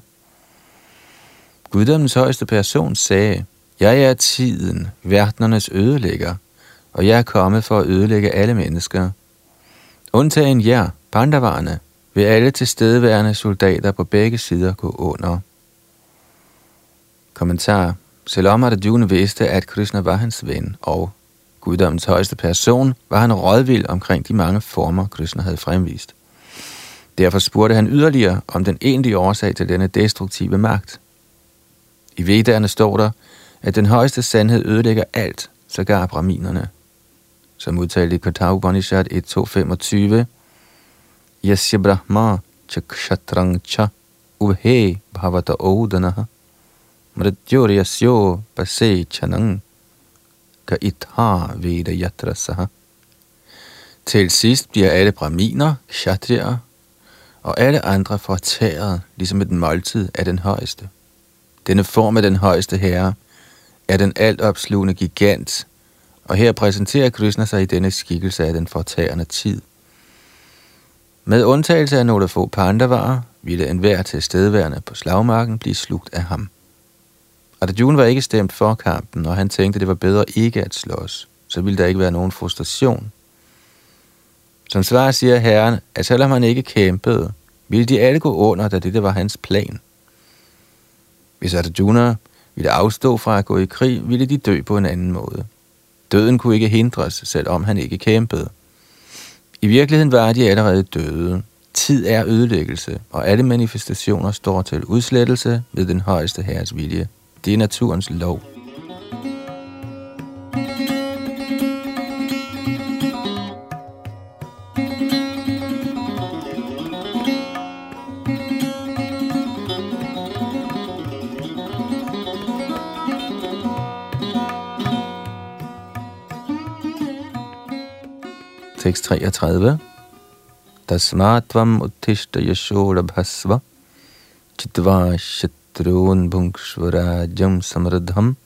Guddommens højeste person sagde, jeg er tiden, verdenernes ødelægger, og jeg er kommet for at ødelægge alle mennesker. Undtagen jer, Pandavarne, vil alle tilstedeværende soldater på begge sider gå under. Kommentar. Selvom Arjuna vidste, at Krishna var hans ven, og guddommens højeste person, var han rådvild omkring de mange former, Krishna havde fremvist. Derfor spurgte han yderligere om den egentlige årsag til denne destruktive magt. I Vedderne står der, at den højeste sandhed ødelægger alt, sågar brahminerne. Som udtalt i Katha Upanishad 1.2.25, Yasya Brahma Chakshatrang Cha Ubhe Bhavata Odanaha Mrityur Yasyo Pase Chanang Ka Itha Veda Yatrasaha. Til sidst bliver alle brahminer, kshatriyer og alle andre fortæret, ligesom et måltid af den højeste. Denne form af den højeste herre er den altopslugende gigant, og her præsenterer Krishna sig i denne skikkelse af den fortærende tid. Med undtagelse af nogle få pandavarer, ville enhver tilstedeværende på slagmarken blive slugt af ham. Arjuna var ikke stemt for kampen, og han tænkte, det var bedre ikke at slås, så ville der ikke være nogen frustration. Som svar siger herren, at selvom han ikke kæmpede, ville de alle gå under, da dette var hans plan. Hvis Arjuna ville afstå fra at gå i krig, ville de dø på en anden måde. Døden kunne ikke hindres, selvom han ikke kæmpede. I virkeligheden var de allerede døde. Tid er ødelæggelse, og alle manifestationer står til udslettelse ved den højeste herres vilje. Det er naturens lov. tekst 33. Tasmatvam uttishta yashoda bhasva chitva shatrun bhungshvarajam samradham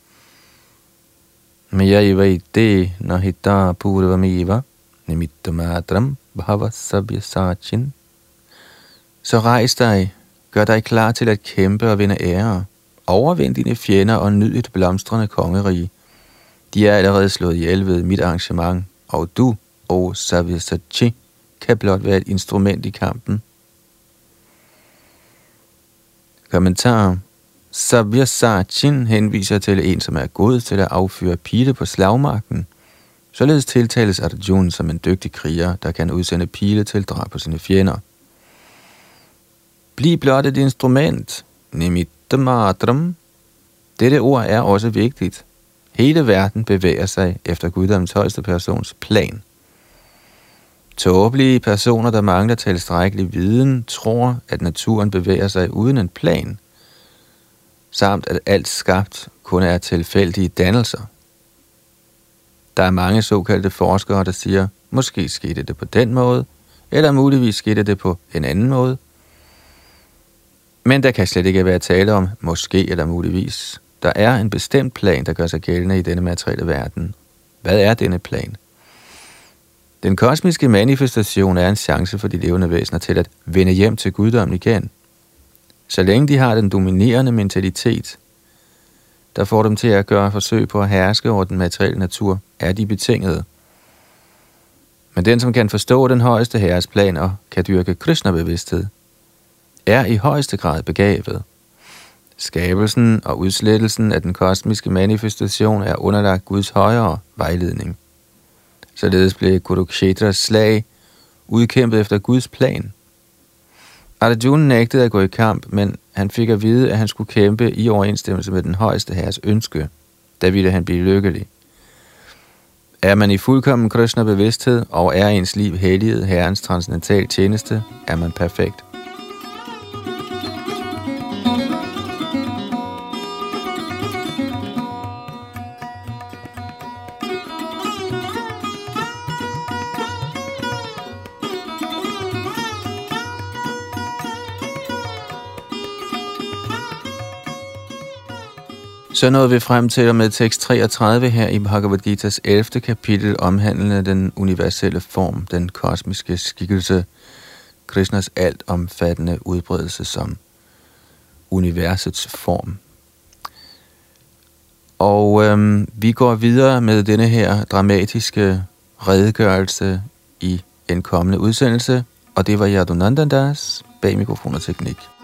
mayaivaite nahita purvamiva nimittamatram bhava sabya sachin. Så rejs dig, gør dig klar til at kæmpe og vinde ære. Overvind dine fjender og nyd et blomstrende kongerige. De er allerede slået ihjel ved mit arrangement, og du, o Sabyasachi, kan blot være et instrument i kampen. Kommentar. Sabyasachin henviser til en, som er god til at affyre pile på slagmarken. Således tiltales Arjuna som en dygtig kriger, der kan udsende pile til drab på sine fjender. Bliv blot et instrument. Nimittamatram. Dette ord er også vigtigt. Hele verden bevæger sig efter guddommens højeste persons plan. Tåbelige personer, der mangler tilstrækkelig viden, tror, at naturen bevæger sig uden en plan, samt at alt skabt kun er tilfældige dannelser. Der er mange såkaldte forskere, der siger, måske skete det på den måde, eller muligvis skete det på en anden måde. Men der kan slet ikke være tale om måske eller muligvis. Der er en bestemt plan, der gør sig gældende i denne materielle verden. Hvad er denne plan? Den kosmiske manifestation er en chance for de levende væsener til at vende hjem til guddommen igen. Så længe de har den dominerende mentalitet, der får dem til at gøre forsøg på at herske over den materielle natur, er de betingede. Men den, som kan forstå den højeste herres plan og kan dyrke Krishna-bevidsthed, er i højeste grad begavet. Skabelsen og udslettelsen af den kosmiske manifestation er underlagt Guds højere vejledning. Således blev Kuruksetras slag udkæmpet efter Guds plan. Arjuna nægtede at gå i kamp, men han fik at vide, at han skulle kæmpe i overensstemmelse med den højeste herres ønske. Da ville han blive lykkelig. Er man i fuldkommen Krishna-bevidsthed og er ens liv helliget herrens transcendental tjeneste, er man perfekt. Så nåede vi frem til og med tekst 33 her i Bhagavad Gita's 11. kapitel, omhandlende den universelle form, den kosmiske skikkelse, Krishnas altomfattende udbredelse som universets form. Og vi går videre med denne her dramatiske redegørelse i en kommende udsendelse, og det var Yadunandandas bag mikrofon og teknik.